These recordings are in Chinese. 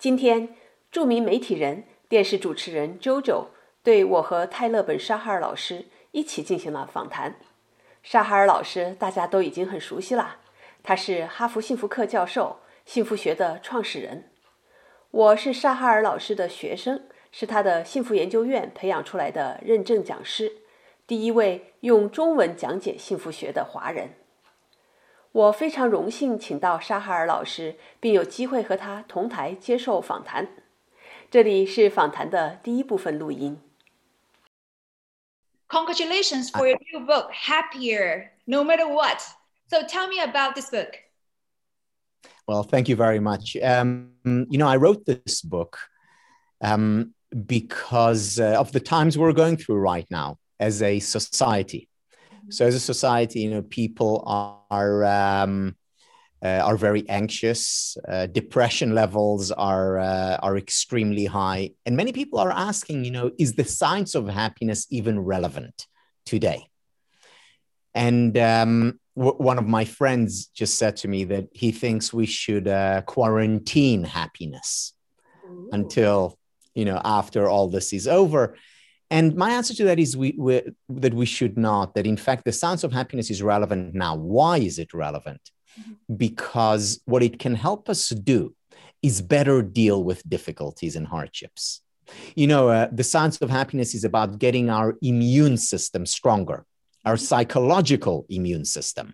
今天，著名媒体人、电视主持人 JoJo 对我和泰勒本沙哈尔老师一起进行了访谈。沙哈尔老师大家都已经很熟悉了，他是哈佛幸福课教授，幸福学的创始人。我是沙哈尔老师的学生，是他的幸福研究院培养出来的认证讲师，第一位用中文讲解幸福学的华人。我非常荣幸请到沙哈尔老师，并有机会和他同台接受访谈。这里是访谈的第一部分录音。 Congratulations for your new book, Happier No Matter What. So tell me about this book. Well, thank you very much. I wrote this book because of the times we're going through right now as a society. So as a society, people are very anxious. Depression levels are extremely high. And many people are asking, is the science of happiness even relevant today? And one of my friends just said to me that he thinks we should quarantine happiness until, after all this is over. And my answer to that is that we should not, that in fact, the science of happiness is relevant now. Why is it relevant? Because what it can help us do is better deal with difficulties and hardships. The science of happiness is about getting our immune system stronger, our psychological immune system,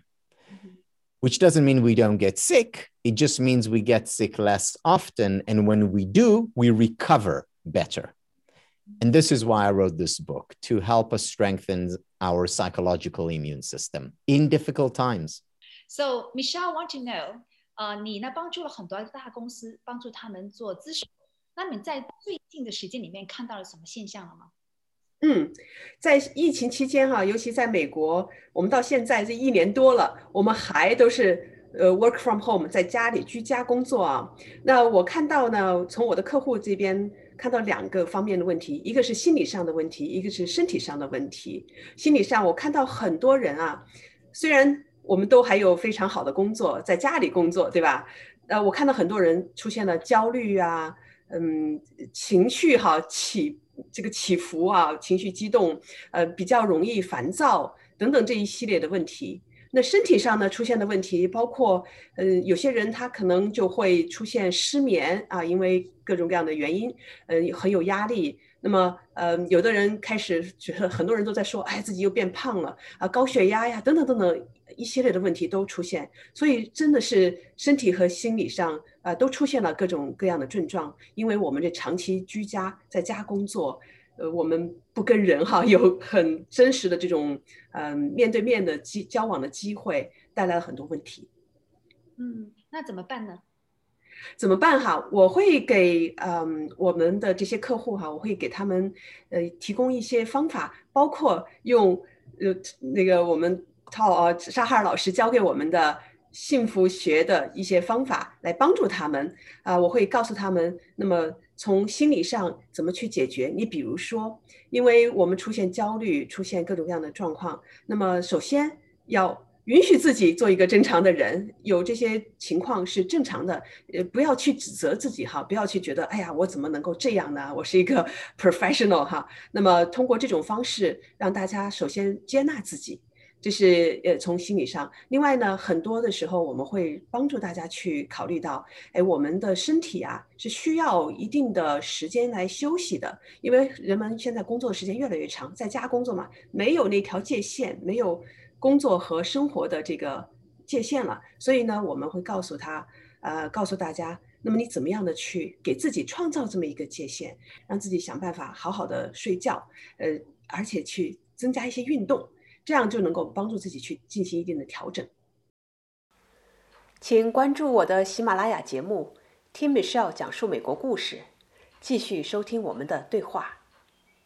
which doesn't mean we don't get sick. It just means we get sick less often. And when we do, we recover better. And this is why I wrote this book, to help us strengthen our psychological immune system in difficult times. So Michelle, I want to know, 你呢帮助了很多大公司，帮助他们做咨询。那你在最近的时间里面看到了什么现象了吗？ 在疫情期间尤其在美国，我们到现在这1年多了，我们还都是work from home， 在家里居家工作啊。那我看到呢，从我的客户这边看到2个方面的问题，一个是心理上的问题，一个是身体上的问题。心理上，我看到很多人虽然我们都还有非常好的工作，在家里工作，对吧？我看到很多人出现了焦虑情绪起伏情绪激动，比较容易烦躁等等这一系列的问题。那身体上呢出现的问题包括有些人他可能就会出现失眠因为各种各样的原因很有压力。那么有的人开始觉得，很多人都在说自己又变胖了高血压呀等等等等一系列的问题都出现。所以真的是身体和心理上都出现了各种各样的症状，因为我们这长期居家在家工作，我们不跟人有很真实的这种面对面的交往的机会，带来了很多问题。 那怎么办呢？ 怎么办我会给我们的这些客户我会给他们提供一些方法，包括用我们沙哈尔老师教给我们的幸福学的一些方法来帮助他们我会告诉他们，那么从心理上怎么去解决。你比如说，因为我们出现焦虑，出现各种各样的状况，那么首先要允许自己做一个正常的人，有这些情况是正常的，不要去指责自己不要去觉得我怎么能够这样呢？我是一个 professional 那么通过这种方式让大家首先接纳自己，这是从心理上。另外呢，很多的时候我们会帮助大家去考虑到我们的身体是需要一定的时间来休息的，因为人们现在工作的时间越来越长，在家工作嘛，没有那条界限，没有工作和生活的这个界限了。所以呢，我们会告诉大家，那么你怎么样的去给自己创造这么一个界限，让自己想办法好好的睡觉而且去增加一些运动，这样就能够帮助自己去进行一定的调整。请关注我的喜马拉雅节目，听 Michelle 讲述美国故事，继续收听我们的对话。